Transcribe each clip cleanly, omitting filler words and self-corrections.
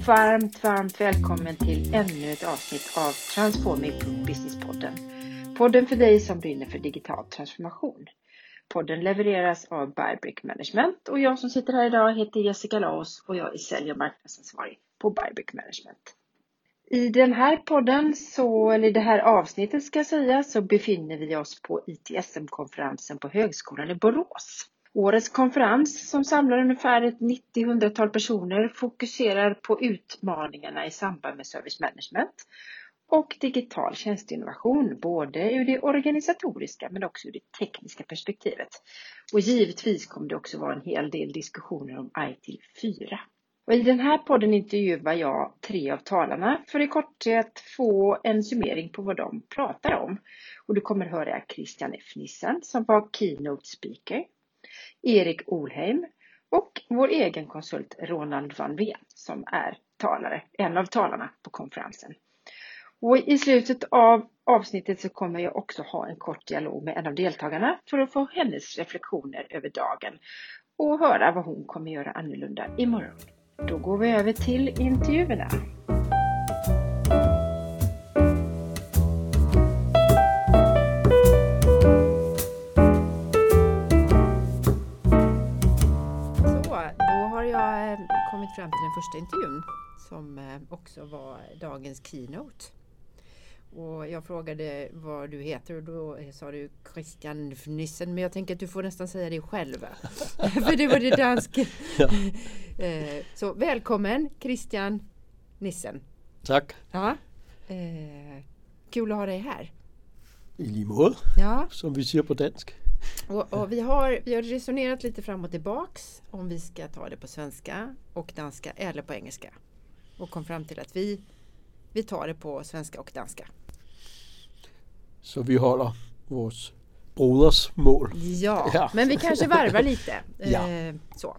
Varmt välkommen till ännu ett avsnitt av Transforming Business-podden. Podden för dig som brinner för digital transformation. Podden levereras av Bybrick Management och jag som sitter här idag heter Jessica Laos och jag är sälj- och marknadsansvarig på Bybrick Management. I den här podden, eller det här avsnittet ska jag säga, så befinner vi oss på ITSM-konferensen på Högskolan i Borås. Årets konferens som samlar ungefär ett 90-100-tal personer fokuserar på utmaningarna i samband med service management och digital tjänsteinnovation, både ur det organisatoriska men också ur det tekniska perspektivet. Och givetvis kommer det också vara en hel del diskussioner om IT4. Och i den här podden intervjuar jag 3 av talarna för i korthet få en summering på vad de pratar om. Och du kommer höra Christian F. Nissen som var keynote speaker, Erik Olheim och vår egen konsult Ronald van Veen som är en av talarna på konferensen. Och i slutet av avsnittet så kommer jag också ha en kort dialog med en av deltagarna för att få hennes reflektioner över dagen och höra vad hon kommer göra annorlunda imorgon. Då går vi över till intervjuerna. Kommit fram till den första intervjun som också var dagens keynote. Och jag frågade vad du heter och då sa du Christian F. Nissen, men jag tänker att du får nästan säga det själv. För det var det danska. Ja. Så välkommen Christian Nissen. Tack. Ja. Kul att ha dig här. I lige måde, ja. Som vi säger på dansk. Och vi har resonerat lite fram och tillbaks om vi ska ta det på svenska och danska eller på engelska. Och kom fram till att vi tar det på svenska och danska. Så vi håller vårt brodersmål. Ja, men vi kanske varvar lite. Ja. Så.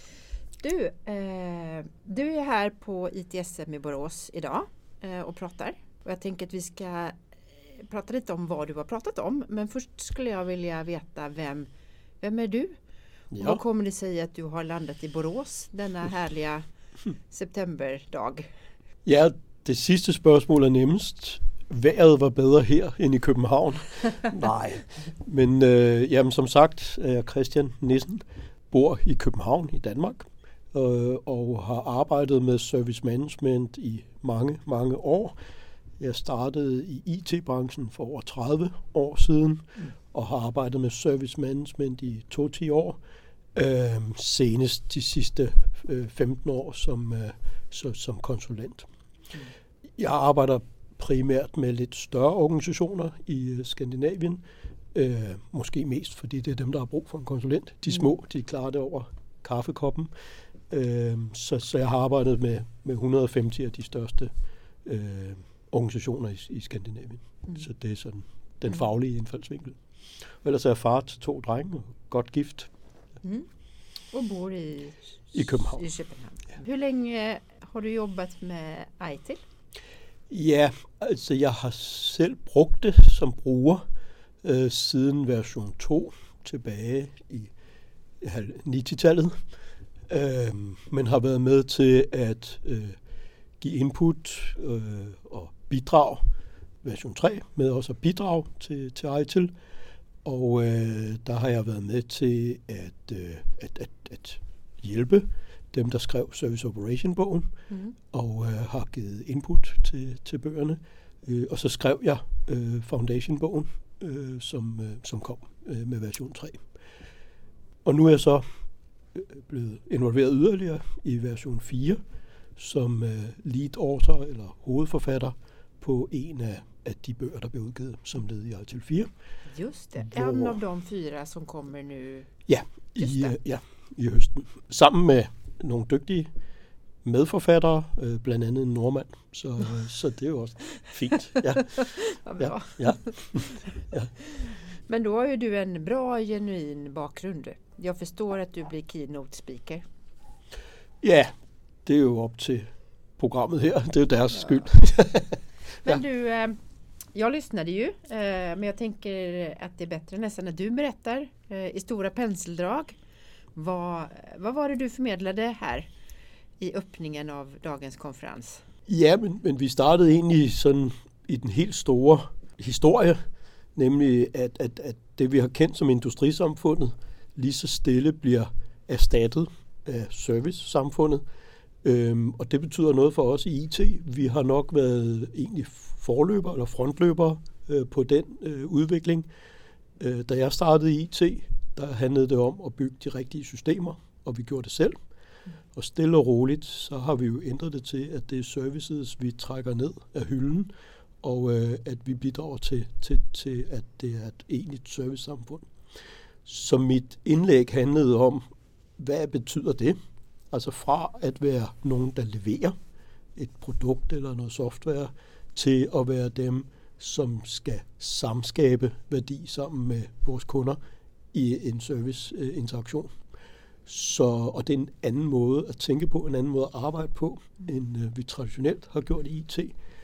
Du är här på ITSM i Borås idag och pratar. Och jag tänker att vi ska prata lite om vad du har pratat om. Men först skulle jag vilja veta vem är du? Ja. Vad kommer det sig att du har landat i Borås denna härliga septemberdag? Ja, det sista spørgsmål är nemmest. Vejret var bedre her end i København. Nej, men jamen, som sagt är jag Christian Nissen, bor i København i Danmark och har arbejdet med service management i mange år. Jeg startede i IT-branchen for over 30 år siden, og har arbejdet med service management i 2-10 år. Senest de sidste 15 år som konsulent. Jeg arbejder primært med lidt større organisationer i Skandinavien. Måske mest, fordi det er dem, der har brug for en konsulent. De små, de klarer det over kaffekoppen. Så jeg har arbejdet med 150 af de største organisationer i Skandinavien. Så det er sådan den faglige indfaldsvinkel. Og ellers er jeg far til 2 drenge og godt gift. Och bor i København. I København. Ja. Hur länge har du jobbat med ITIL? Ja, altså jeg har selv brugt det som bruger siden version 2 tilbage i 90-tallet. Men har været med til at give input og bidrag, version 3, med også at bidrage til ITIL. Og der har jeg været med til at hjælpe dem, der skrev Service Operation-bogen, og har givet input til bøgerne. Og så skrev jeg Foundation-bogen, som kom med version 3. Og nu er jeg så blevet involveret yderligere i version 4, som lead author eller hovedforfatter på en af de bøger, der blev udgivet som led i ITIL 4. Just det. En av de 4 som kommer nu. Ja, i høsten. Sammen med nogle dygtige medforfattere, blandt andet en nordmand. Så det er jo også fint. Ja. Bra. Ja. Men då har ju du en bra, genuin bakgrund. Jag förstår att du blir keynote speaker. Ja, det är ju upp till programmet här. Det är deras skyld. Men du, jag lyssnade ju, men jag tänker att det är bättre nästan när du berättar i stora penseldrag. Vad var det du förmedlade här i öppningen av dagens konferens? Ja, men vi startede egentlig sådan i den helt store historie, nemlig at det vi har kendt som industrisamfundet lige så stille bliver erstattet af servicesamfundet. Og det betyder noget for os i IT. Vi har nok været egentlig forløbere eller frontløbere på den udvikling. Da jeg startede i IT, der handlede det om at bygge de rigtige systemer, og vi gjorde det selv. Og stille og roligt, så har vi jo ændret det til, at det er services, vi trækker ned af hylden, og at vi bidrager til, at det er et egentligt servicesamfund. Så mit indlæg handlede om, hvad betyder det? Altså fra at være nogen, der leverer et produkt eller noget software, til at være dem, som skal samskabe værdi sammen med vores kunder i en serviceinteraktion. Og det er en anden måde at tænke på, en anden måde at arbejde på, end vi traditionelt har gjort i IT.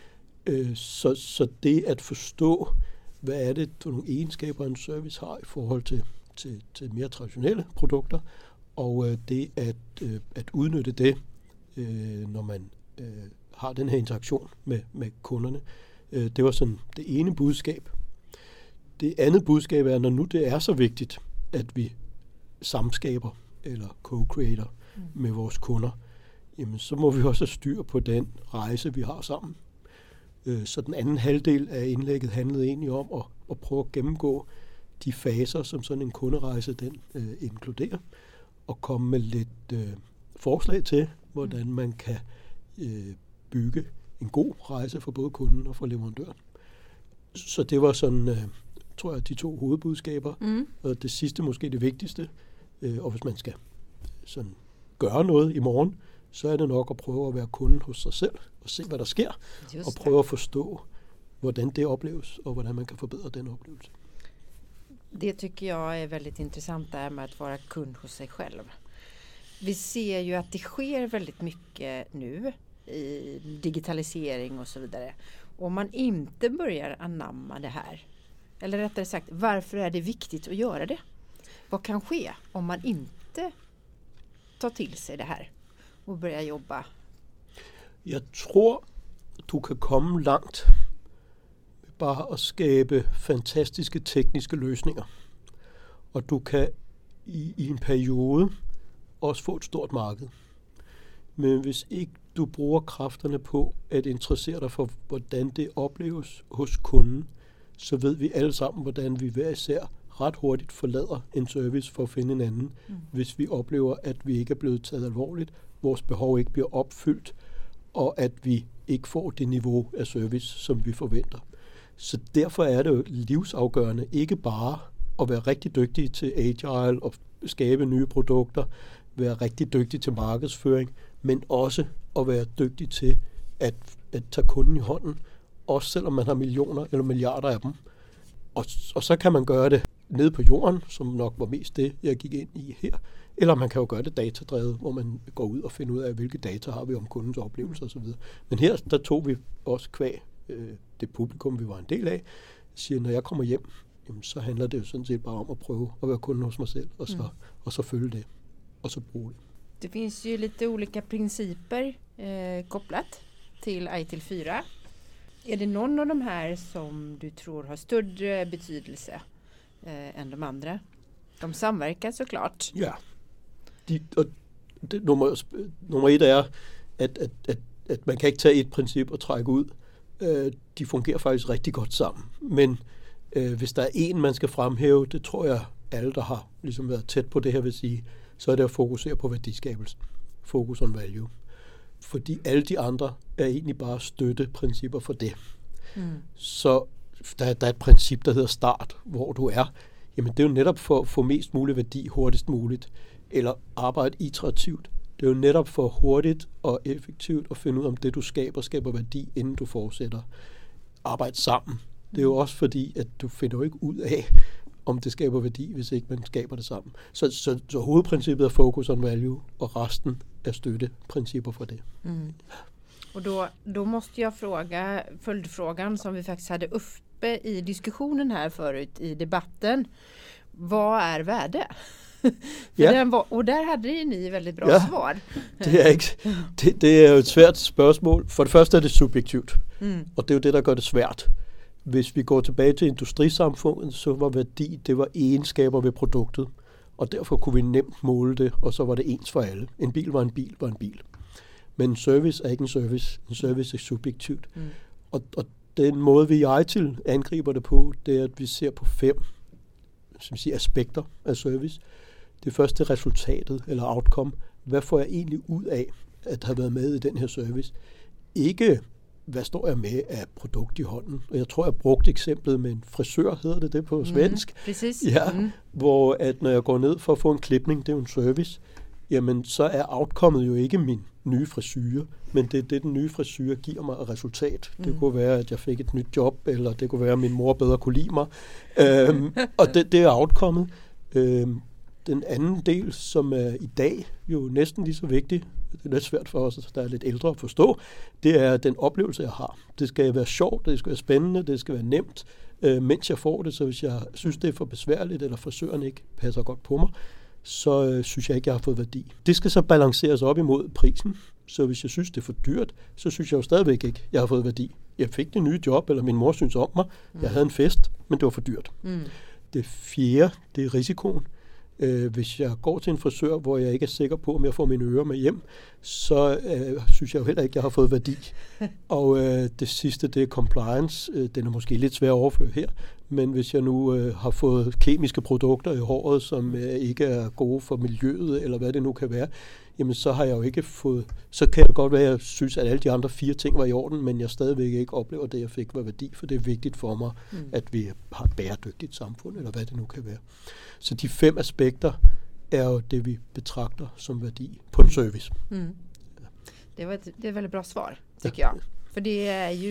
Så det at forstå, hvad er det for nogle egenskaber, en service har i forhold til mere traditionelle produkter, og det at udnytte det, når man har den her interaktion med kunderne. Det var sådan det ene budskab. Det andet budskab er, når nu det er så vigtigt, at vi samskaber eller co-creator med vores kunder, jamen så må vi også have styr på den rejse, vi har sammen. Så den anden halvdel af indlægget handlede egentlig om at prøve at gennemgå de faser, som sådan en kunderejse den inkluderer, og komme med lidt forslag til, hvordan man kan bygge en god rejse for både kunden og for leverandøren. Så det var sådan, tror jeg, de to hovedbudskaber, og det sidste måske det vigtigste. Og hvis man skal sådan gøre noget i morgen, så er det nok at prøve at være kunde hos sig selv og se, hvad der sker, og prøve at forstå, hvordan det opleves, og hvordan man kan forbedre den oplevelse. Det tycker jag är väldigt intressant där med att vara kund hos sig själv. Vi ser ju att det sker väldigt mycket nu i digitalisering och så vidare. Om man inte börjar anamma det här, eller rättare sagt, varför är det viktigt att göra det? Vad kan ske om man inte tar till sig det här och börjar jobba? Jeg tror, du kan komme langt med bare at skabe fantastiske tekniske løsninger. Og du kan i en periode også få et stort marked. Men hvis ikke du bruger kræfterne på at interessere dig for, hvordan det opleves hos kunden, så ved vi alle sammen, hvordan vi hver især ret hurtigt forlader en service for at finde en anden, hvis vi oplever, at vi ikke er blevet taget alvorligt, vores behov ikke bliver opfyldt, og at vi ikke får det niveau af service, som vi forventer. Så derfor er det jo livsafgørende ikke bare at være rigtig dygtig til agile og skabe nye produkter, være rigtig dygtig til markedsføring, men også at være dygtig til at tage kunden i hånden, også selvom man har millioner eller milliarder af dem. Og så kan man gøre det nede på jorden, som nok var mest det, jeg gik ind i her. Eller man kan jo gøre det datadrevet, hvor man går ud og finder ud af, hvilke data har vi om kundens oplevelser osv. Men her, der tog vi også kvæg det publikum, vi var en del af, siger, når jeg kommer hjem, jamen, så handler det jo sådan set bare om at prøve at være kunde hos mig selv, og så følge det, og så bruge det. Det finns ju lite olika principer kopplat till ITIL 4. Är det någon av de här som du tror har större betydelse än de andra? De samverkar såklart. Ja. Nummer et er, at man kan ikke tage et princip og trække ud. De fungerer faktisk rigtig godt sammen. Men hvis der er en, man skal fremhæve, det tror jeg alle, der har ligesom været tæt på det her, vil sige, så er det at fokusere på værdiskabelsen. Focus on value. Fordi alle de andre er egentlig bare støtteprincipper for det. Så der er et princip, der hedder start, hvor du er. Jamen det er jo netop for at få mest mulig værdi hurtigst muligt. Eller arbejde iterativt. Det er jo netop for hurtigt og effektivt at finde ud af, om det du skaber værdi, inden du fortsætter. Arbejde sammen. Det er jo også fordi, at du finder jo ikke ud af, om det skaber værdi, hvis ikke man skaber det sammen. Så hovedprincippet er focus on value, och resten är stödprinciper för det. Och då måste jag fråga följdfrågan som vi faktiskt hade uppe i diskussionen här förut i debatten. Vad är värde? Och där hade ni väldigt bra svar. Det er jo et svært spørgsmål. For det første er det subjektivt, og det er jo det, der gør det svært. Hvis vi går tilbage til industrisamfundet, så var værdi, det var egenskaber ved produktet, og derfor kunne vi nemt måle det, og så var det ens for alle. En bil var en bil. Men en service er ikke en service. En service er subjektivt. Og den måde, vi i ITIL angriber det på, det er, at vi ser på 5 aspekter af service. Det første er resultatet, eller outcome. Hvad får jeg egentlig ud af at have været med i den her service? Ikke, hvad står jeg med af produkt i hånden? Og jeg tror, jeg brugte eksemplet med en frisør, hedder det på svensk. Præcis. Ja, hvor at når jeg går ned for at få en klipning, det er jo en service, jamen så er outcomet jo ikke min nye frisyre, men det er det, den nye frisyre giver mig af resultat. Det kunne være, at jeg fik et nyt job, eller det kunne være, at min mor bedre kunne lide mig. Og det er outcomet. Den anden del, som er i dag jo næsten lige så vigtig, det er lidt svært for os, der er lidt ældre at forstå, det er den oplevelse, jeg har. Det skal være sjovt, det skal være spændende, det skal være nemt, mens jeg får det. Så hvis jeg synes, det er for besværligt, eller frisøren ikke passer godt på mig, så synes jeg ikke, jeg har fået værdi. Det skal så balanceres op imod prisen. Så hvis jeg synes, det er for dyrt, så synes jeg jo stadigvæk ikke, jeg har fået værdi. Jeg fik det nye job, eller min mor synes om mig. Jeg havde en fest, men det var for dyrt. Det fjerde, det er risikoen. Hvis jeg går til en frisør, hvor jeg ikke er sikker på, om jeg får mine ører med hjem, så synes jeg jo heller ikke, jeg har fået værdi. Og det sidste, det er compliance. Den er måske lidt svær at overføre her, men hvis jeg nu har fået kemiske produkter i håret, som ikke er gode for miljøet, eller hvad det nu kan være, jamen så har jeg jo ikke fået, så kan det godt være, at jeg synes, at alle de andre 4 ting var i orden, men jeg stadigvæk ikke oplever det, jeg fik var værdi, for det er vigtigt for mig, at vi har et bæredygtigt samfund, eller hvad det nu kan være. Så de 5 aspekter er jo det, vi betragter som værdi på en service. Det är ett väldigt bra svar, tycker jag. För det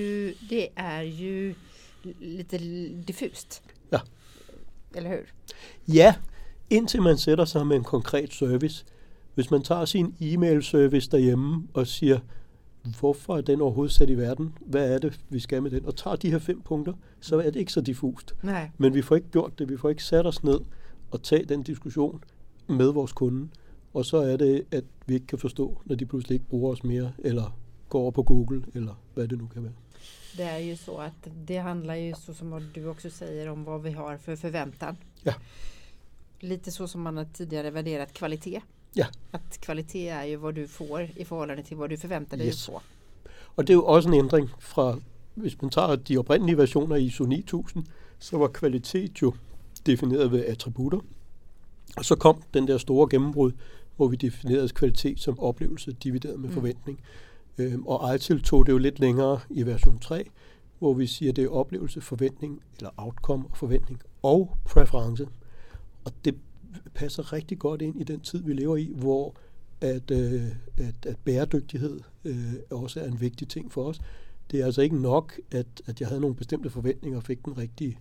är ju lite diffust. Ja. Eller hur? Ja, indtil man sætter sig med en konkret service. Hvis man tager sin e-mail-service derhjemme og siger, hvorfor er den overhovedet sat i verden? Hvad er det, vi skal med den? Og tager de her 5 punkter, så er det ikke så diffust. Nej. Men vi får ikke gjort det. Vi får ikke sat os ned og tage den diskussion med vores kunde. Og så er det, at vi ikke kan forstå, når de pludselig ikke bruger os mere, eller går over på Google, eller hvad det nu kan være. Det är ju så att det handlar ju, så som du också säger, om vad vi har för förväntan. Ja. Lite så som man har tidigare värderat kvalitet. Ja. At kvalitet er jo, hvad du får i forhold til, hvad du forventer dig på. Og det er jo også en ændring fra, hvis man tager de oprindelige versioner i ISO 9000, så var kvalitet jo defineret ved attributter. Og så kom den der store gennembrud, hvor vi definerede kvalitet som oplevelse divideret med forventning. Og ITIL tog det jo lidt længere i version 3, hvor vi siger, at det er oplevelse, forventning, eller outcome og forventning, og præference. Og det passer rigtig godt ind i den tid, vi lever i, hvor at bæredygtighed også er en vigtig ting for os. Det er altså ikke nok, at jeg havde nogle bestemte forventninger og fik den rigtige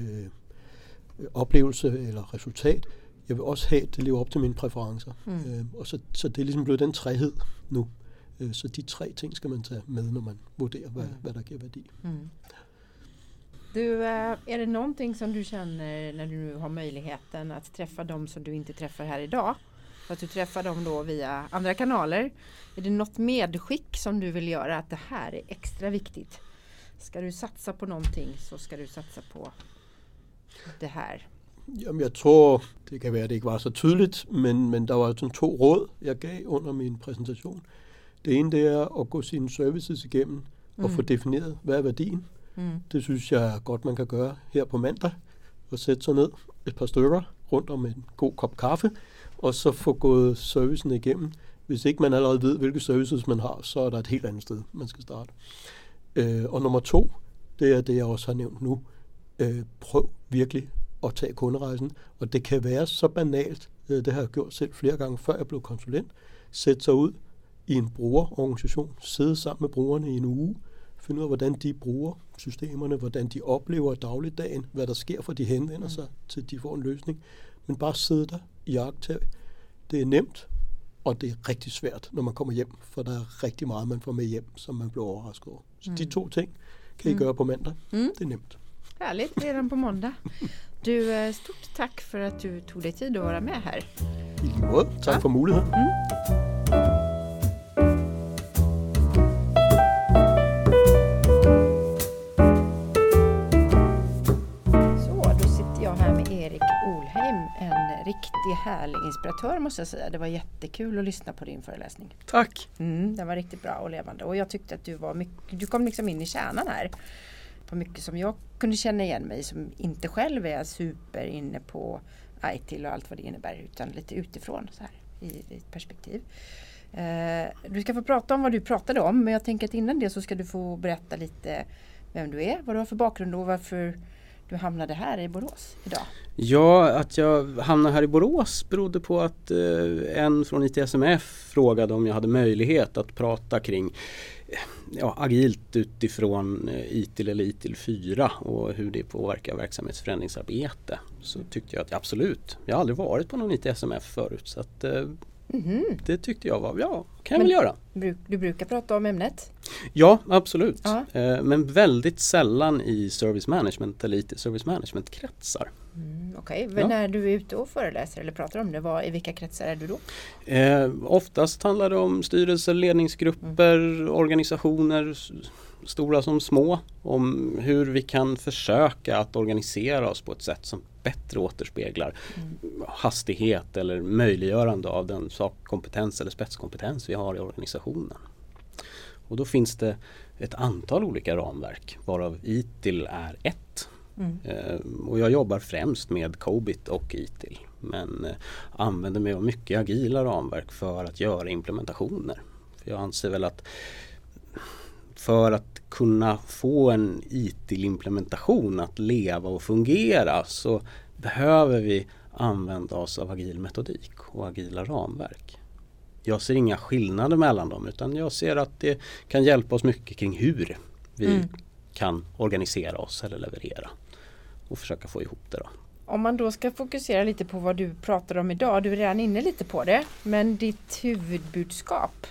oplevelse eller resultat. Jeg vil også have, at det lever op til mine præferencer. Og så det er ligesom blevet den træhed nu. Så de 3 ting skal man tage med, når man vurderer, hvad der giver værdi. Du, är det någonting som du känner när du nu har möjligheten att träffa dem som du inte träffar här idag? För att du träffar dem då via andra kanaler. Är det något medskick som du vill göra, att det här är extra viktigt? Ska du satsa på någonting, så ska du satsa på det här. Jamen, jeg tror, det kan være, at det ikke var så tydeligt, men der var sådan 2 råd, jeg gav under min præsentation. Det ene, det er at gå sine services igennem og få defineret, hvad er værdien. Det synes jeg godt, man kan gøre her på mandag, og sætte sig ned et par stykker rundt om en god kop kaffe, og så få gået servicen igennem. Hvis ikke man allerede ved, hvilke services man har, så er der et helt andet sted, man skal starte. Og nummer 2, det er det, jeg også har nævnt nu. Prøv virkelig at tage kunderejsen, og det kan være så banalt, det har jeg gjort selv flere gange, før jeg blev konsulent, sætte sig ud i en brugerorganisation, sidde sammen med brugerne i en uge, finde ud af, hvordan de bruger systemerne, hvordan de oplever dagligdagen, hvad der sker, for de henvender sig, til de får en løsning. Men bare sidde der i iagttag. Det er nemt, og det er rigtig svært, når man kommer hjem, for der er rigtig meget, man får med hjem, som man bliver overrasket over. Så de 2 ting kan I gøre på mandag. Det er nemt. Härligt, redan på måndag. Du, stort tack för att du tog dig tid att vara med här. Tack för möjligheten. Erik Olheim, en riktig härlig inspiratör måste jag säga. Det var jättekul att lyssna på din föreläsning. Tack! Den var riktigt bra och levande. Och jag tyckte att du kom liksom in i kärnan här. På mycket som jag kunde känna igen mig, som inte själv är super inne på ITIL och allt vad det innebär, utan lite utifrån så här, i ett perspektiv. Du ska få prata om vad du pratade om, men jag tänker att innan det så ska du få berätta lite vem du är, vad du har för bakgrund och varför du hamnade här i Borås idag. Ja, att jag hamnade här i Borås berodde på att en från ITSMF frågade om jag hade möjlighet att prata kring agilt utifrån ITIL eller ITIL 4 och hur det påverkar verksamhetsförändringsarbete. Så tyckte jag att absolut, jag har aldrig varit på någon ITSMF förut, så att det tyckte jag var, kan jag väl göra. Du brukar prata om ämnet? Ja, absolut. Ja. Men väldigt sällan i service management eller IT-service management-kretsar. Okej. När du är ute och föreläser eller pratar om det, i vilka kretsar är du då? Oftast handlar det om styrelser, ledningsgrupper, organisationer, stora som små, om hur vi kan försöka att organisera oss på ett sätt som bättre återspeglar hastighet eller möjliggörande av den sakkompetens eller spetskompetens vi har i organisationen. Och då finns det ett antal olika ramverk, varav ITIL är ett. Och jag jobbar främst med COBIT och ITIL, men använder mig av mycket agila ramverk för att göra implementationer. För jag anser väl att för att kunna få en ITIL-implementation att leva och fungera så behöver vi använda oss av agil metodik och agila ramverk. Jag ser inga skillnader mellan dem, utan jag ser att det kan hjälpa oss mycket kring hur vi kan organisera oss eller leverera och försöka få ihop det då. Om man då ska fokusera lite på vad du pratar om idag, du är redan inne lite på det, men ditt huvudbudskap?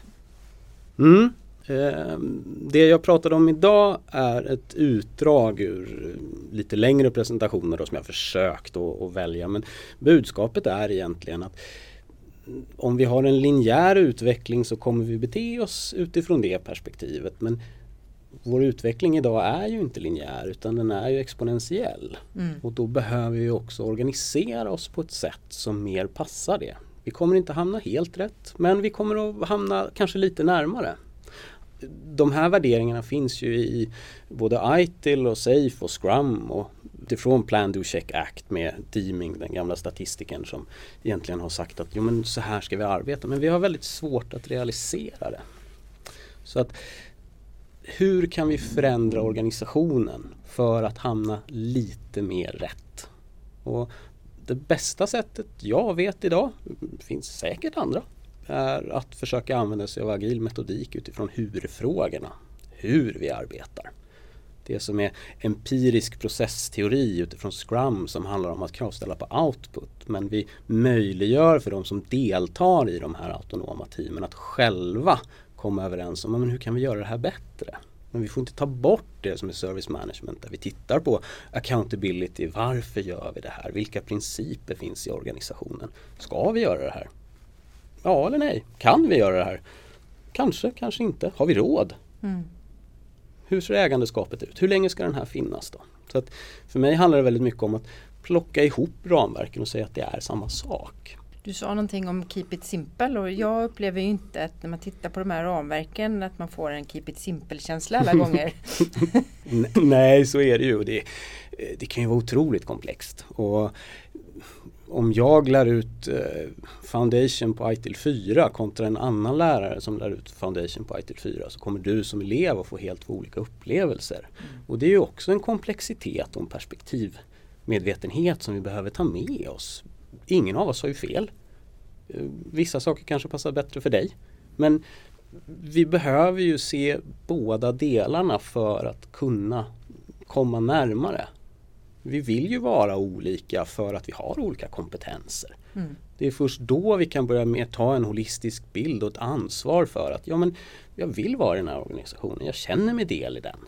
Det jag pratade om idag är ett utdrag ur lite längre presentationer då, som jag försökt att välja, men budskapet är egentligen att om vi har en linjär utveckling så kommer vi bete oss utifrån det perspektivet, men vår utveckling idag är ju inte linjär utan den är ju exponentiell. Och då behöver vi också organisera oss på ett sätt som mer passar det. Vi kommer inte hamna helt rätt, men vi kommer att hamna kanske lite närmare. De här värderingarna finns ju i både ITIL och SAFE och Scrum och utifrån Plan, Do, Check, Act med Deeming, den gamla statistiken som egentligen har sagt att men så här ska vi arbeta, men vi har väldigt svårt att realisera det. Så att hur kan vi förändra organisationen för att hamna lite mer rätt? Och det bästa sättet jag vet idag, finns säkert andra, är att försöka använda sig av agil metodik utifrån hur-frågorna. Hur vi arbetar. Det som är empirisk processteori utifrån Scrum som handlar om att kravställa på output. Men vi möjliggör för de som deltar i de här autonoma teamen att själva komma överens om men hur kan vi göra det här bättre. Men vi får inte ta bort det som är service management där vi tittar på accountability. Varför gör vi det här? Vilka principer finns i organisationen? Ska vi göra det här? Ja eller nej? Kan vi göra det här? Kanske, kanske inte. Har vi råd? Hur ser ägandeskapet ut? Hur länge ska den här finnas då? Så att för mig handlar det väldigt mycket om att plocka ihop ramverken och säga att det är samma sak. Du sa någonting om keep it simple och jag upplever ju inte att när man tittar på de här ramverken att man får en keep it simple-känsla alla gånger. Nej, så är det ju. Det kan ju vara otroligt komplext. Och om jag lär ut Foundation på ITIL 4 kontra en annan lärare som lär ut Foundation på ITIL 4 så kommer du som elev att få helt två olika upplevelser. Och det är ju också en komplexitet och en perspektivmedvetenhet som vi behöver ta med oss. Ingen av oss har ju fel. Vissa saker kanske passar bättre för dig. Men vi behöver ju se båda delarna för att kunna komma närmare. Vi vill ju vara olika för att vi har olika kompetenser. Det är först då vi kan börja med ta en holistisk bild och ett ansvar för att jag vill vara i den här organisationen. Jag känner mig del i den.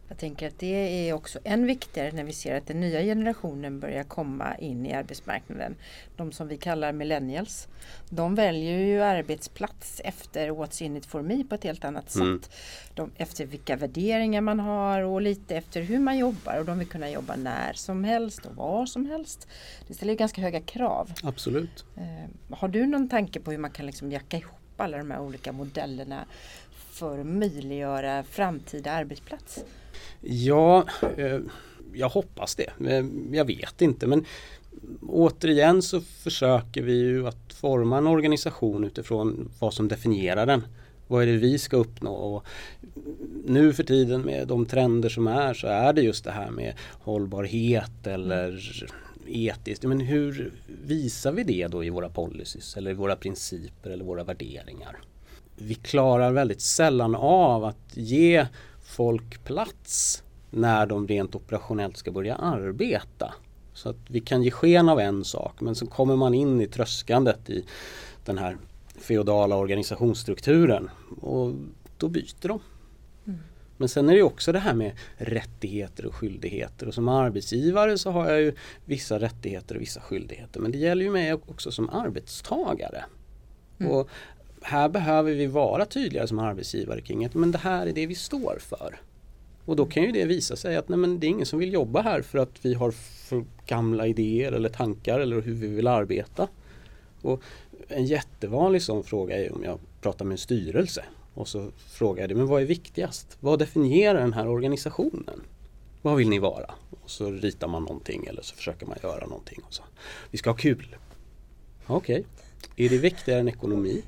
Jag tänker att det är också än viktigare när vi ser att den nya generationen börjar komma in i arbetsmarknaden. De som vi kallar millennials. De väljer ju arbetsplats efter what's in it for me på ett helt annat sätt. Efter vilka värderingar man har och lite efter hur man jobbar. Och de vill kunna jobba när som helst och var som helst. Det ställer ju ganska höga krav. Absolut. Har du någon tanke på hur man kan liksom jacka ihop alla de här olika modellerna för att möjliggöra framtida arbetsplats? Ja, jag hoppas det. Jag vet inte, men återigen så försöker vi ju att forma en organisation utifrån vad som definierar den. Vad är det vi ska uppnå? Och nu för tiden med de trender som är så är det just det här med hållbarhet eller etiskt. Men hur visar vi det då i våra policies eller i våra principer eller våra värderingar? Vi klarar väldigt sällan av att ge folk plats när de rent operationellt ska börja arbeta. Så att vi kan ge sken av en sak, men så kommer man in i tröskandet i den här feodala organisationsstrukturen och då byter de. Men sen är det också det här med rättigheter och skyldigheter, och som arbetsgivare så har jag ju vissa rättigheter och vissa skyldigheter, men det gäller ju mig också som arbetstagare. Och här behöver vi vara tydliga som arbetsgivare kring att men det här är det vi står för. Och då kan ju det visa sig att nej, men det är ingen som vill jobba här för att vi har för gamla idéer eller tankar eller hur vi vill arbeta. Och en jättevanlig sån fråga är om jag pratar med en styrelse och så frågar jag det, men vad är viktigast? Vad definierar den här organisationen? Vad vill ni vara? Och så ritar man någonting eller så försöker man göra någonting. Och så. Vi ska ha kul. Okej. Är det viktigare än ekonomi?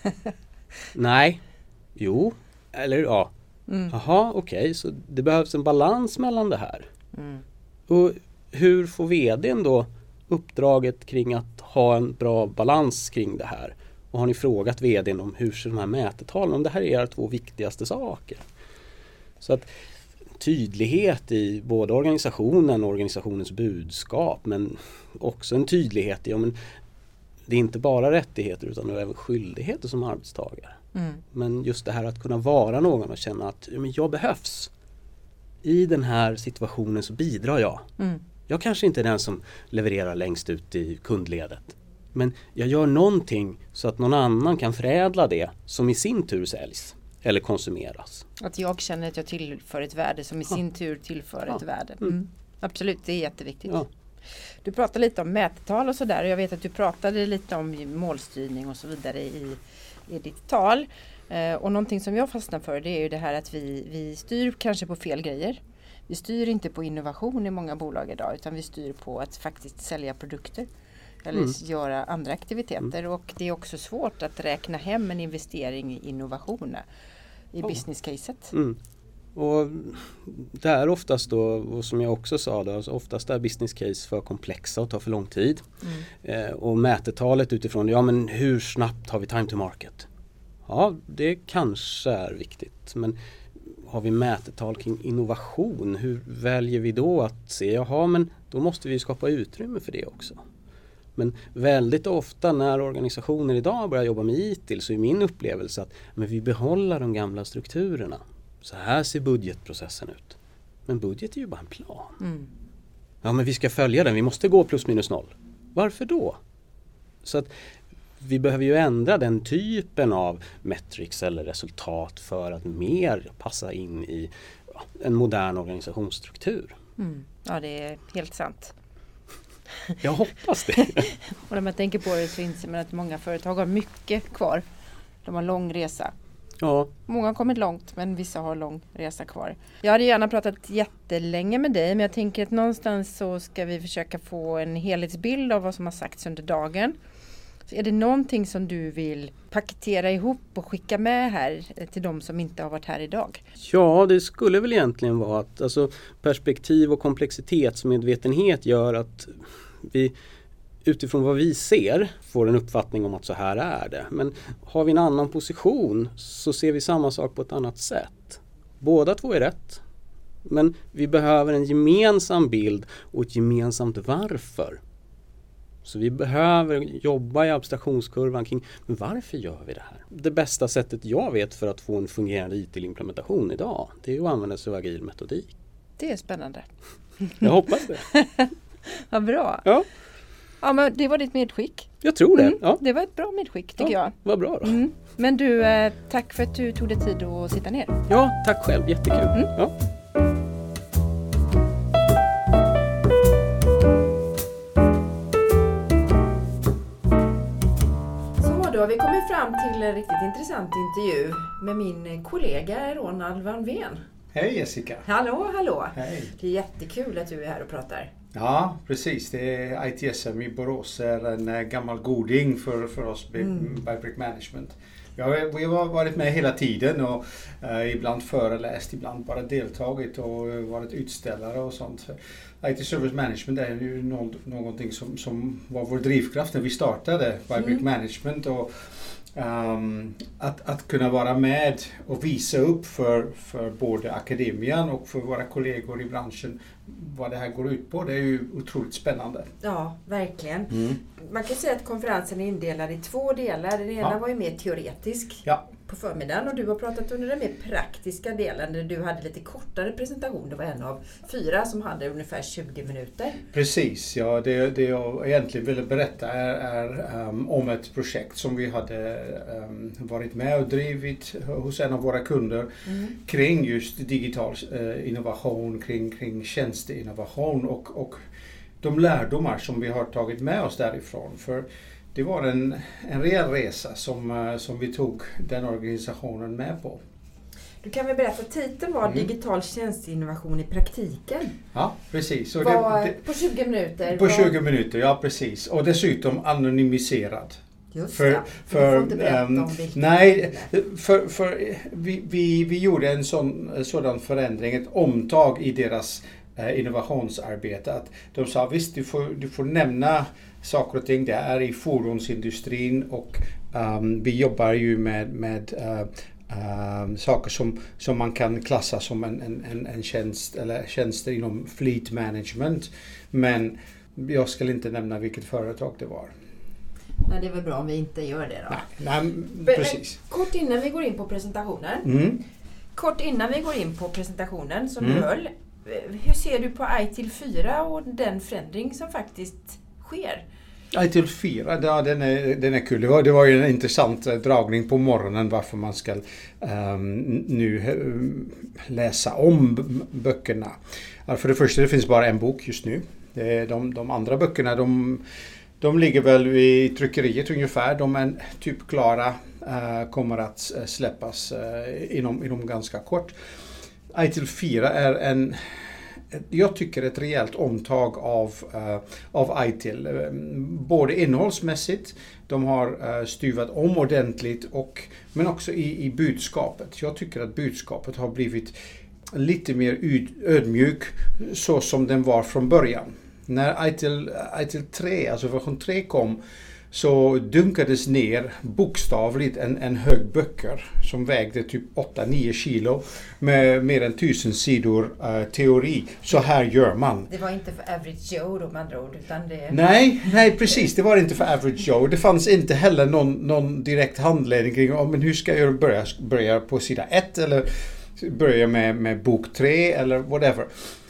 Nej. Jo. Eller ja. Jaha, okej. Så det behövs en balans mellan det här. Och hur får vdn då uppdraget kring att ha en bra balans kring det här? Och har ni frågat vdn om hur ser de här mätetalen, om det här är era 2 viktigaste saker? Så att tydlighet i både organisationen och organisationens budskap, men också en tydlighet i om det är inte bara rättigheter utan även skyldigheter som arbetstagare. Men just det här att kunna vara någon och känna att men jag behövs. I den här situationen så bidrar jag. Jag kanske inte är den som levererar längst ut i kundledet. Men jag gör någonting så att någon annan kan förädla det som i sin tur säljs eller konsumeras. Att jag känner att jag tillför ett värde som i sin tur tillför ett värde. Absolut, det är jätteviktigt. Ja. Du pratade lite om mättal och sådär, och jag vet att du pratade lite om målstyrning och så vidare i ditt tal. Och någonting som jag fastnar för, det är ju det här att vi styr kanske på fel grejer. Vi styr inte på innovation i många bolag idag, utan vi styr på att faktiskt sälja produkter eller göra andra aktiviteter. Och det är också svårt att räkna hem en investering i innovation i business-caset. Och det är oftast då, och som jag också sa då, oftast är business case för komplexa och tar för lång tid. Och mätetalet utifrån, ja men hur snabbt har vi time to market? Ja, det kanske är viktigt, men har vi mätetal kring innovation, hur väljer vi då att se, jaha men då måste vi skapa utrymme för det också. Men väldigt ofta när organisationer idag börjar jobba med IT så är min upplevelse att men vi behåller de gamla strukturerna. Så här ser budgetprocessen ut. Men budget är ju bara en plan. Ja, men vi ska följa den. Vi måste gå plus minus noll. Varför då? Så att vi behöver ju ändra den typen av metrics eller resultat för att mer passa in i en modern organisationsstruktur. Ja, det är helt sant. Jag hoppas det. Och när man tänker på det så inser man att många företag har mycket kvar. De har lång resa. Ja. Många har kommit långt, men vissa har lång resa kvar. Jag hade gärna pratat jättelänge med dig, men jag tänker att någonstans så ska vi försöka få en helhetsbild av vad som har sagts under dagen. Så är det någonting som du vill paketera ihop och skicka med här till de som inte har varit här idag? Ja, det skulle väl egentligen vara att alltså, perspektiv och komplexitetsmedvetenhet gör att vi utifrån vad vi ser får en uppfattning om att så här är det. Men har vi en annan position så ser vi samma sak på ett annat sätt. Båda 2 är rätt. Men vi behöver en gemensam bild och ett gemensamt varför. Så vi behöver jobba i abstraktionskurvan kring varför gör vi det här? Det bästa sättet jag vet för att få en fungerande ITIL-implementation idag, det är att använda sig av agil metodik. Det är spännande. Jag hoppas det. Vad bra. Ja. Ja, men det var ditt medskick. Jag tror det. Ja. Det var ett bra medskick tycker jag. Vad bra då. Men du, tack för att du tog dig tid att sitta ner. Ja, tack själv. Jättekul. Ja. Då har vi kommit fram till en riktigt intressant intervju med min kollega Ronald Van Veen. Hej Jessica! Hallå! Hej! Det är jättekul att du är här och pratar. Ja, precis. Det är ITSM i Borås är en gammal goding för oss Bybrick Management. Vi har varit med hela tiden och ibland föreläst, ibland bara deltagit och varit utställare och sånt. IT Service Management är ju någonting som var vår drivkraft när vi startade Bybrick Management. Och att kunna vara med och visa upp för både akademian och för våra kollegor i branschen vad det här går ut på, det är ju otroligt spännande. Ja, verkligen. Man kan säga att konferensen är indelad i 2 delar. Den ena var ju mer teoretisk på förmiddagen och du har pratat under den mer praktiska delen där du hade lite kortare presentation. Det var en av 4 som hade ungefär 20 minuter. Precis, ja. Det jag egentligen ville berätta är om ett projekt som vi hade varit med och drivit hos en av våra kunder kring just digital innovation, kring tjänsteinnovation och de lärdomar som vi har tagit med oss därifrån. För det var en rejäl resa som vi tog den organisationen med på. Du kan väl berätta, titeln var Digital tjänsteinnovation i praktiken. Ja, precis. Och på 20 minuter? På 20 minuter, ja precis. Och dessutom anonymiserad. Just det, du får inte berätta om vilken. Nej, för vi gjorde en sådan förändring, ett omtag i deras innovationsarbete. Att de sa visst, du får nämna saker och ting. Det är i fordonsindustrin och vi jobbar ju med saker som man kan klassa som en tjänst eller tjänster inom fleet management. Men jag ska inte nämna vilket företag det var. Nej, det är väl bra om vi inte gör det då. Nej, precis. Kort innan vi går in på presentationen som du höll. Hur ser du på ITIL 4 och den förändring som faktiskt sker? ITIL 4, ja, den är kul. Det var ju en intressant dragning på morgonen varför man ska nu läsa om böckerna. För det första, det finns bara en bok just nu. De andra böckerna, de ligger väl vid tryckeriet ungefär. De är typ klara, kommer att släppas inom ganska kort. ITIL 4 är jag tycker ett rejält omtag av ITIL. Både innehållsmässigt, de har styvat om ordentligt men också i budskapet. Jag tycker att budskapet har blivit lite mer ödmjuk så som den var från början. När ITIL 3, alltså version 3 kom, så dunkades ner bokstavligt en hög böcker som vägde typ 8-9 kilo med mer än 1000 sidor teori. Så här gör man. Det var inte för average Joe då med andra ord, utan det... Nej, precis. Det var inte för average Joe. Det fanns inte heller någon direkt handledning kring men hur ska jag börja på sida 1 eller börja med bok 3 eller whatever.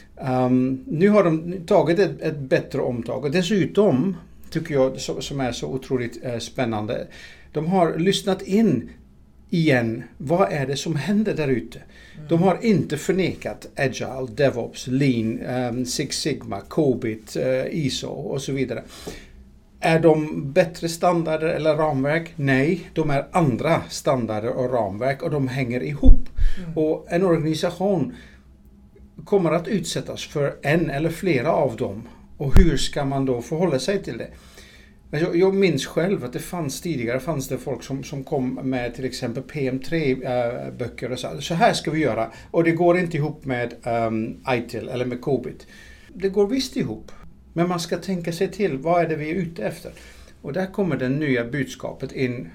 Nu har de tagit ett bättre omtag och dessutom tycker jag som är så otroligt spännande. De har lyssnat in igen. Vad är det som händer där ute? De har inte förnekat Agile, DevOps, Lean, Six Sigma, COBIT, ISO och så vidare. Är de bättre standarder eller ramverk? Nej, de är andra standarder och ramverk och de hänger ihop. Och en organisation kommer att utsättas för en eller flera av dem. Och hur ska man då förhålla sig till det? Jag minns själv att tidigare fanns det folk som kom med till exempel PM3-böcker och sa så här ska vi göra. Och det går inte ihop med ITIL eller med COBIT. Det går visst ihop. Men man ska tänka sig till vad är det vi är ute efter. Och där kommer det nya budskapet in.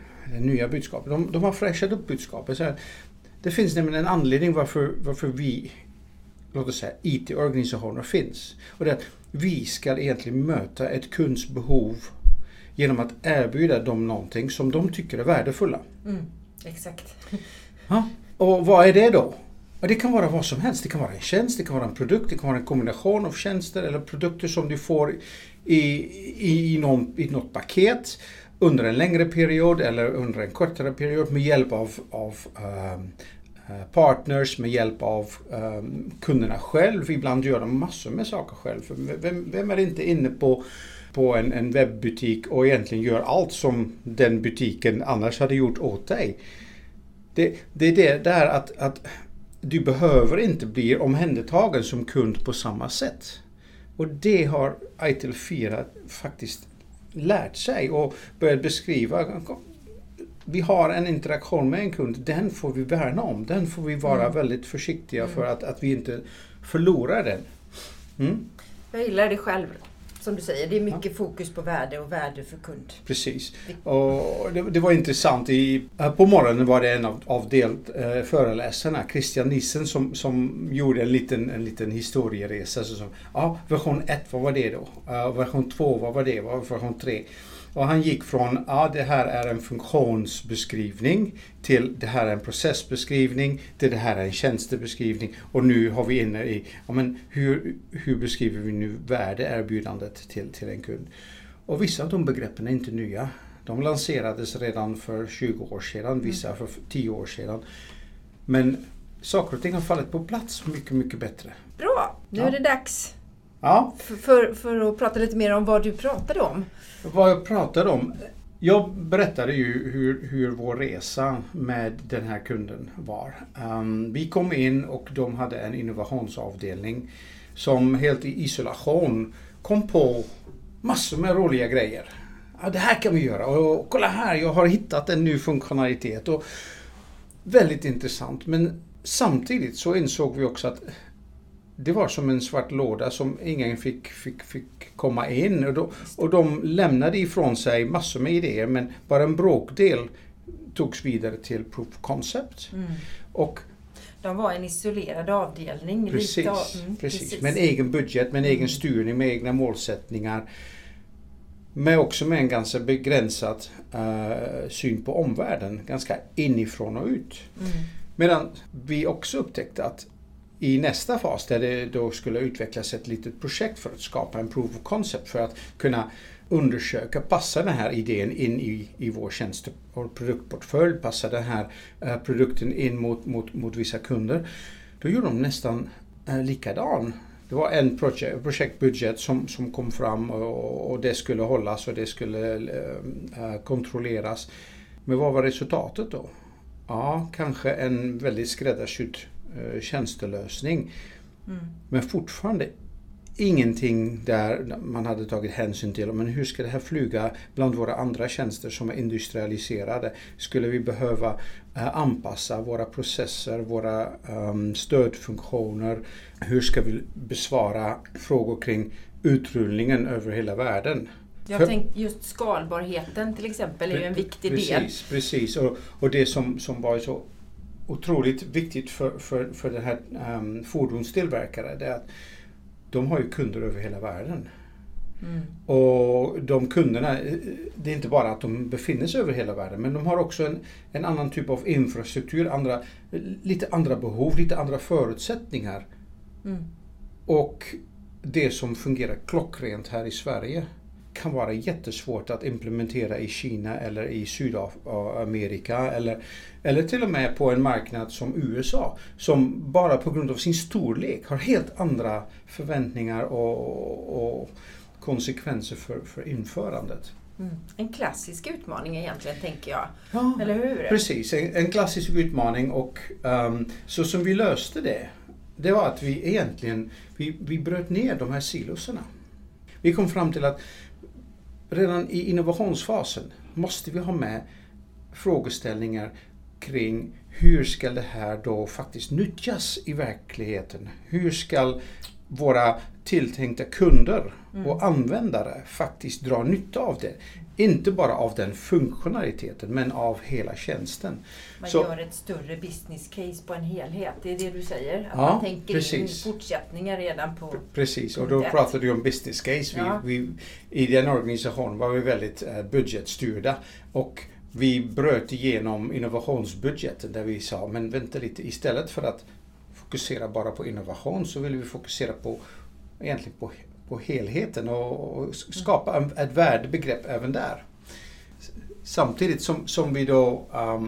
De har fräschat upp budskapet. Så här, det finns nämligen en anledning varför vi låt oss säga, IT-organisationer finns. Och det är att vi ska egentligen möta ett kunds behov genom att erbjuda dem någonting som de tycker är värdefulla. Exakt. Ja, och vad är det då? Och det kan vara vad som helst. Det kan vara en tjänst, det kan vara en produkt, det kan vara en kombination av tjänster eller produkter som du får i något paket under en längre period eller under en kortare period med hjälp av partners, med hjälp av kunderna själv. Ibland gör de massor med saker själv. Vem är inte inne på en webbutik och egentligen gör allt som den butiken annars hade gjort åt dig? Det är det där att du behöver inte bli omhändertagen som kund på samma sätt. Och det har ITIL 4 faktiskt lärt sig och börjat beskriva. Vi har en interaktion med en kund, den får vi värna om. Den får vi vara väldigt försiktiga för att vi inte förlorar den. Jag gillar det själv. Som du säger, det är mycket fokus på värde och värde för kund. Precis. Och det var intressant. På morgonen var det en av föreläsarna, Christian Nissen, som gjorde en liten historieresa. Version 1, vad var det då? Version 2, vad var det? Version 3. Och han gick från, det här är en funktionsbeskrivning till det här är en processbeskrivning till det här är en tjänstebeskrivning. Och nu har vi inne i, hur beskriver vi nu värdeerbjudandet till en kund? Och vissa av de begreppen är inte nya. De lanserades redan för 20 år sedan, vissa för 10 år sedan. Men saker och ting har fallit på plats mycket, mycket bättre. Bra, nu är det dags. Ja. För att prata lite mer om vad du pratade om. Vad jag pratade om. Jag berättade ju hur vår resa med den här kunden var. Vi kom in och de hade en innovationsavdelning som helt i isolation kom på massor med roliga grejer. Det här kan vi göra och kolla här, jag har hittat en ny funktionalitet. Och väldigt intressant, men samtidigt så insåg vi också att det var som en svart låda som ingen fick komma in. Och de lämnade ifrån sig massor med idéer, men bara en bråkdel togs vidare till proof of concept. Och de var en isolerad avdelning. Precis. Med en egen budget, med en egen styrning, med egna målsättningar. Men också med en ganska begränsad syn på omvärlden. Ganska inifrån och ut. Medan vi också upptäckte att i nästa fas där det då skulle utvecklas ett litet projekt för att skapa en proof of concept för att kunna undersöka, passar den här idén in i vår tjänst- och produktportfölj, passar den här produkten in mot vissa kunder. Då gjorde de nästan likadan. Det var en projektbudget som kom fram och det skulle hållas och det skulle kontrolleras. Men vad var resultatet då? Ja, kanske en väldigt skräddarsydd tjänstelösning. Men fortfarande ingenting där man hade tagit hänsyn till. Men hur ska det här flyga bland våra andra tjänster som är industrialiserade? Skulle vi behöva anpassa våra processer, våra stödfunktioner? Hur ska vi besvara frågor kring utrullningen över hela världen? Jag tänkte just skalbarheten till exempel är ju en viktig del. Precis. Och det som var så otroligt viktigt för den här fordonstillverkare, det är att de har ju kunder över hela världen. Och de kunderna, det är inte bara att de befinner sig över hela världen, men de har också en annan typ av infrastruktur, lite andra behov, lite andra förutsättningar. Och det som fungerar klockrent här i Sverige kan vara jättesvårt att implementera i Kina eller i Sydamerika eller till och med på en marknad som USA som bara på grund av sin storlek har helt andra förväntningar och konsekvenser för införandet. En klassisk utmaning egentligen, tänker jag. Ja, eller hur? Precis, en klassisk utmaning och så som vi löste det var att vi egentligen vi bröt ner de här siloserna. Vi kom fram till att redan i innovationsfasen måste vi ha med frågeställningar kring hur ska det här då faktiskt nyttjas i verkligheten? Hur ska våra tilltänkta kunder och användare faktiskt drar nytta av det. Inte bara av den funktionaliteten men av hela tjänsten. Man gör ett större business case på en helhet, det är det du säger? Att man tänker in fortsättningar redan på... Precis, och då pratade du om business case. I den organisationen var vi väldigt budgetstyrda och vi bröt igenom innovationsbudgeten där vi sa, men vänta lite, istället för att fokusera bara på innovation så vill vi fokusera på helheten och skapa ett värdebegrepp även där. Samtidigt som vi då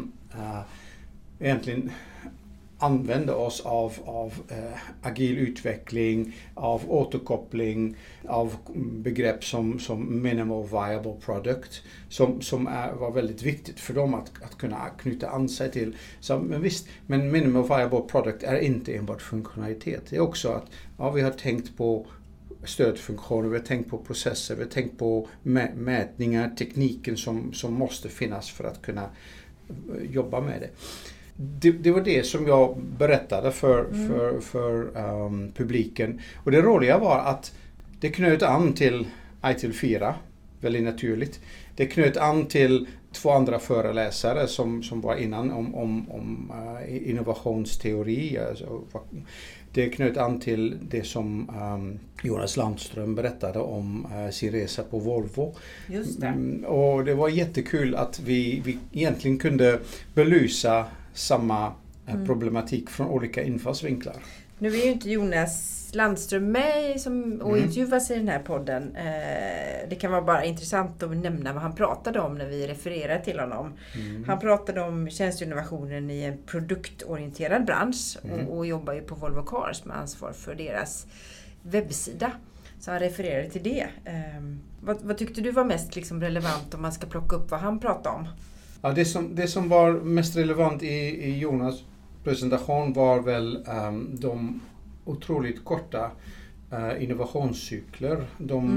egentligen använder oss av agil utveckling, av återkoppling, av begrepp som minimal viable product som var väldigt viktigt för dem att kunna knyta an sig till. Men minimal viable product är inte enbart funktionalitet. Det är också att vi har tänkt på stödfunktioner, vi har tänkt på processer, vi har tänkt på mätningar, tekniken som måste finnas för att kunna jobba med det. Det var det som jag berättade för publiken. Och det roliga var att det knöt an till ITIL 4, väldigt naturligt. Det knöt an till 2 andra föreläsare som var innan om innovationsteori. Alltså, det knöt an till det som Jonas Landström berättade om sin resa på Volvo. Just det. Och det var jättekul att vi egentligen kunde belysa samma problematik från olika infallsvinklar. Nu är ju inte Jonas Landström med och intervjuas i den här podden. Det kan vara bara intressant att nämna vad han pratade om när vi refererar till honom. Han pratade om tjänsteinnovationen i en produktorienterad bransch och jobbar ju på Volvo Cars med ansvar för deras webbsida. Så han refererade till det. Vad tyckte du var mest relevant om man ska plocka upp vad han pratade om? Ja, det som var mest relevant i Jonas presentation var väl de otroligt korta innovationscykler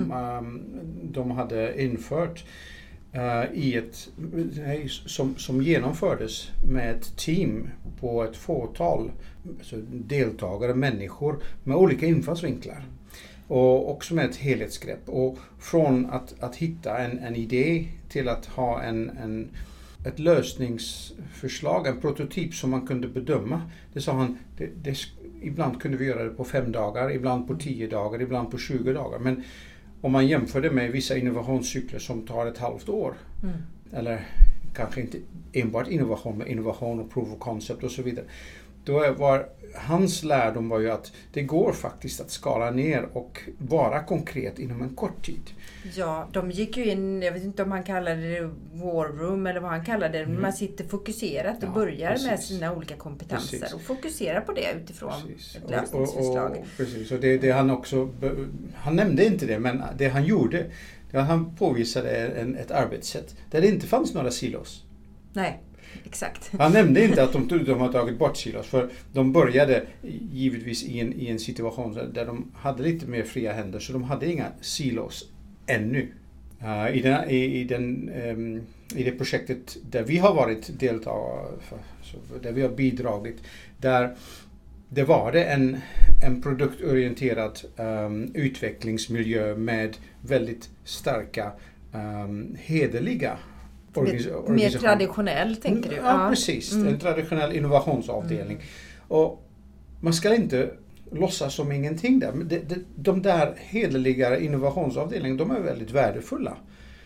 de hade infört som genomfördes med ett team på ett fåtal deltagare, människor med olika infallsvinklar. Och också med ett helhetsgrepp. Och från att hitta en idé till att ha ett lösningsförslag, en prototyp som man kunde bedöma. Det sa han, ibland kunde vi göra det på 5 dagar, ibland på 10 dagar, ibland på 20 dagar. Men om man jämför det med vissa innovationscykler som tar ett halvt år, eller kanske inte enbart innovation, men innovation och proof of concept och så vidare. Då var hans lärdom var ju att det går faktiskt att skala ner och vara konkret inom en kort tid. Ja, de gick ju in, jag vet inte om han kallade det war room eller vad han kallade det, men man sitter fokuserat och börjar med sina olika kompetenser och fokuserar på det utifrån ett lösningsförslag. Precis, och det han också, han nämnde inte det, men det han gjorde, han påvisade ett arbetssätt där det inte fanns några silos. Nej. Exakt. Han nämnde inte att de har tagit bort silos, för de började givetvis i en situation där de hade lite mer fria händer, så de hade inga silos ännu. I det projektet där vi har varit deltagare, där vi har bidragit, där det var det en produktorienterad utvecklingsmiljö med väldigt starka hederliga mer traditionell, tänker du? Ja, precis. En traditionell innovationsavdelning. Och man ska inte låtsas som ingenting där. Men de där hederliga innovationsavdelningarna, de är väldigt värdefulla.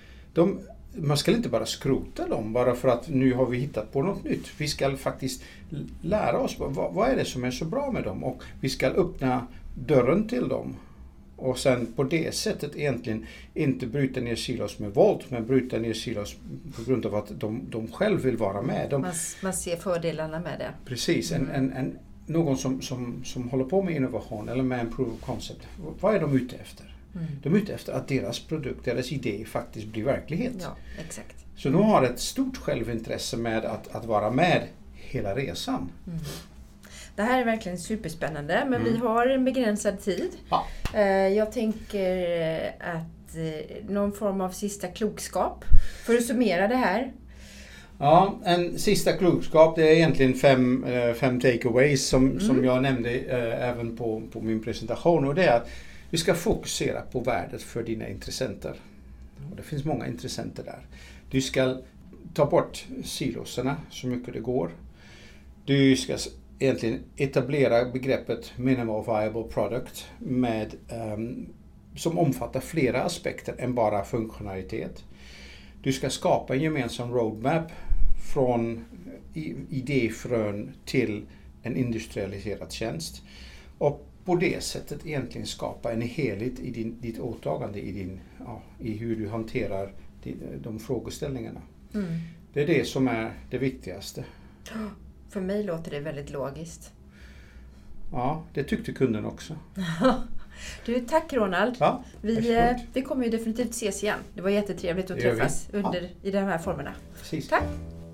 Man ska inte bara skrota dem bara för att nu har vi hittat på något nytt. Vi ska faktiskt lära oss vad är det som är så bra med dem, och vi ska öppna dörren till dem. Och sen på det sättet egentligen inte bryta ner silos med våld, men bryta ner silos på grund av att de själv vill vara med. Man ser fördelarna med det. Precis, någon som håller på med innovation eller med en proof of concept. Vad är de ute efter? De är ute efter att deras produkt, deras idé faktiskt blir verklighet. Ja, exakt. Så de har ett stort självintresse med att vara med hela resan. Det här är verkligen superspännande, men vi har en begränsad tid. Ja. Jag tänker att någon form av sista klokskap för att summera det här. Ja, en sista klokskap, det är egentligen fem takeaways som jag nämnde även på min presentation, och det är att Vi ska fokusera på värdet för dina intressenter. Och det finns många intressenter där. Du ska ta bort siloserna så mycket det går. Du ska egentligen etablera begreppet minimal viable product med, som omfattar flera aspekter än bara funktionalitet. Du ska skapa en gemensam roadmap från idéfrön till en industrialiserad tjänst. Och på det sättet egentligen skapa en helhet i ditt åtagande, i hur du hanterar de frågeställningarna. Det är det som är det viktigaste. För mig låter det väldigt logiskt. Ja, det tyckte kunden också. Du, tack Ronald. Ja, vi kommer ju definitivt ses igen. Det var jättetrevligt att träffas i de här formerna. Precis. Tack.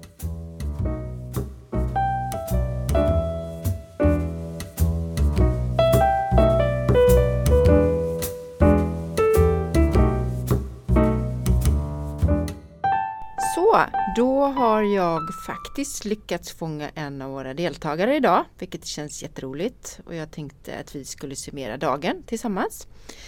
Då har jag faktiskt lyckats fånga en av våra deltagare idag, vilket känns jätteroligt. Och jag tänkte att vi skulle summera dagen tillsammans.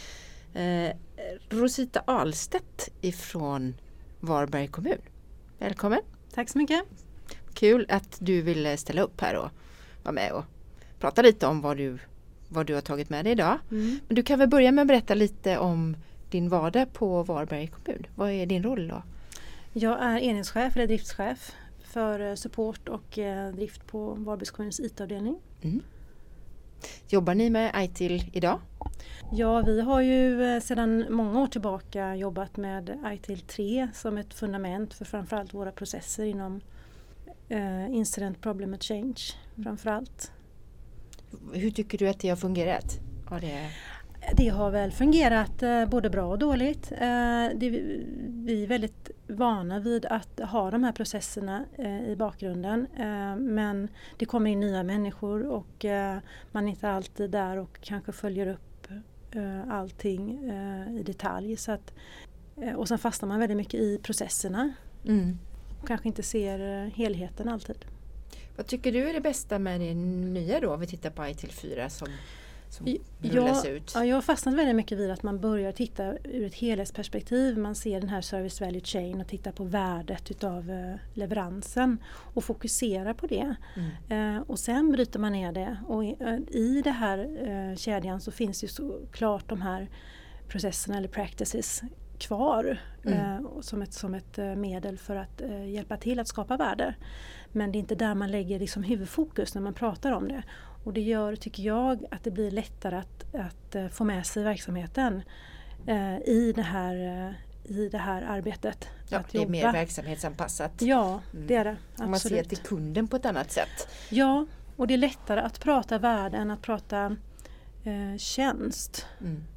Rosita Ahlstedt ifrån Varberg kommun. Välkommen! Tack så mycket! Kul att du ville ställa upp här och vara med och prata lite om vad du har tagit med dig idag. Men du kan väl börja med att berätta lite om din vardag på Varberg kommun. Vad är din roll då? Jag är enhetschef eller driftschef för support och drift på Varbergs kommuns IT-avdelning. Jobbar ni med ITIL idag? Ja, vi har ju sedan många år tillbaka jobbat med ITIL 3 som ett fundament för framförallt våra processer inom Incident Problem and Change framförallt. Hur tycker du att det har fungerat? Det har väl fungerat både bra och dåligt. Vi är väldigt vana vid att ha de här processerna i bakgrunden. Men det kommer in nya människor och man är inte alltid där och kanske följer upp allting i detalj. Och sen fastnar man väldigt mycket i processerna. Och kanske inte ser helheten alltid. Vad tycker du är det bästa med det nya då? Vi tittar på ITIL 4 som rullas ut. Ja, jag har fastnat väldigt mycket vid att man börjar titta ur ett helhetsperspektiv. Man ser den här service value chain och tittar på värdet utav leveransen och fokuserar på det. Och sen bryter man ner det. Och i det här kedjan så finns ju såklart de här processerna eller practices kvar som ett medel för att hjälpa till att skapa värde. Men det är inte där man lägger liksom huvudfokus när man pratar om det. Och det gör, tycker jag, att det blir lättare att få med sig verksamheten i det här arbetet. Ja, att det är jobba. mer verksamhetsanpassat. Ja, det är det. Absolut. Man ser till kunden på ett annat sätt. Ja, och det är lättare att prata värde än att prata tjänst.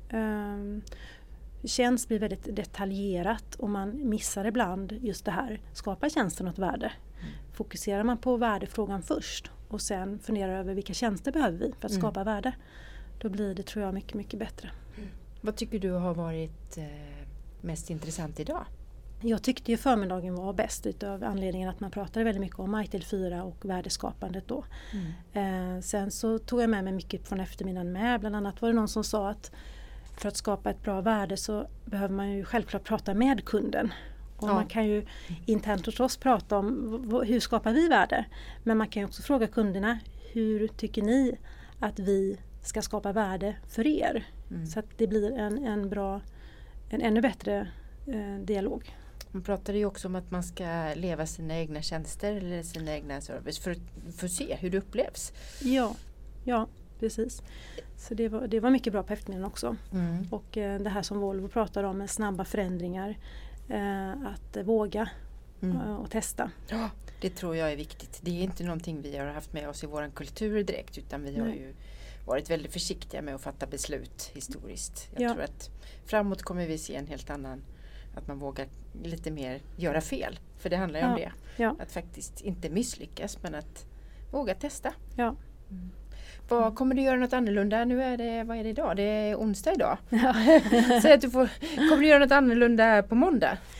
Tjänst blir väldigt detaljerat och man missar ibland just det här. Skapar tjänsten något värde? Fokuserar man på värdefrågan först och sen funderar över vilka tjänster behöver vi för att skapa värde. Då blir det, tror jag, mycket, mycket bättre. Vad tycker du har varit mest intressant idag? Jag tyckte ju förmiddagen var bäst utav anledningen att man pratade väldigt mycket om ITIL 4 och värdeskapandet då. Sen så tog jag med mig mycket från eftermiddagen med. Bland annat var det någon som sa att för att skapa ett bra värde så behöver man ju självklart prata med kunden. Och man kan ju internt hos oss prata om hur skapar vi värde. Men man kan ju också fråga kunderna, hur tycker ni att vi ska skapa värde för er? Så att det blir en ännu bättre dialog. Man pratade ju också om att man ska leva sina egna tjänster eller sina egna service för att se hur det upplevs. Ja, precis. Så det var mycket bra på eftermiddagen också. Och det här som Volvo pratar om med snabba förändringar. Att våga och testa. Ja, det tror jag är viktigt. Det är inte någonting vi har haft med oss i vår kultur direkt, utan vi har ju varit väldigt försiktiga med att fatta beslut historiskt. Jag tror att framåt kommer vi se en helt annan, att man vågar lite mer göra fel. För det handlar ju om det. Ja. Att faktiskt inte misslyckas, men att våga testa. Ja. Vad kommer du göra något annorlunda? Nu är det, vad är det idag? Det är onsdag idag. Så att kommer du göra något annorlunda på måndag?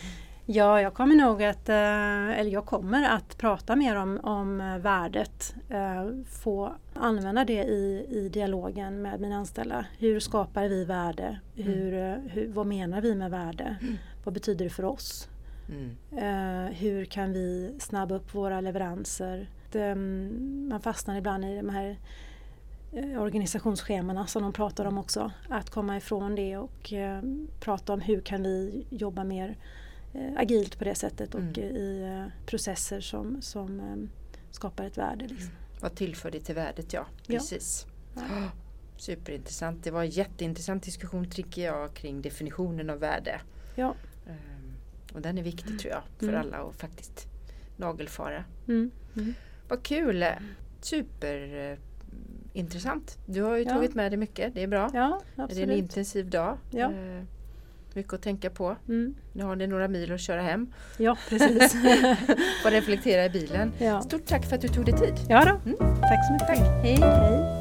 Ja, jag kommer att prata mer om värdet. Få använda det i dialogen med mina anställda. Hur skapar vi värde? Vad menar vi med värde? Vad betyder det för oss? Hur kan vi snabba upp våra leveranser? Man fastnar ibland i de här organisationsschemana som de pratar om också. Att komma ifrån det och prata om hur kan vi jobba mer agilt på det sättet och i processer som skapar ett värde. Liksom. Vad tillför det till värdet, ja. Precis. Ja. Superintressant. Det var en jätteintressant diskussion tycker jag kring definitionen av värde. Ja. Och den är viktig tror jag för alla att faktiskt nagelfara. Vad kul! Superintressant. Du har ju tagit med dig mycket, det är bra. Ja, absolut. Det är en intensiv dag. Ja. Mycket att tänka på. Nu har ni några mil att köra hem. Ja, precis. Får reflektera i bilen. Ja. Stort tack för att du tog dig tid. Ja då. Tack så mycket. Tack. Hej.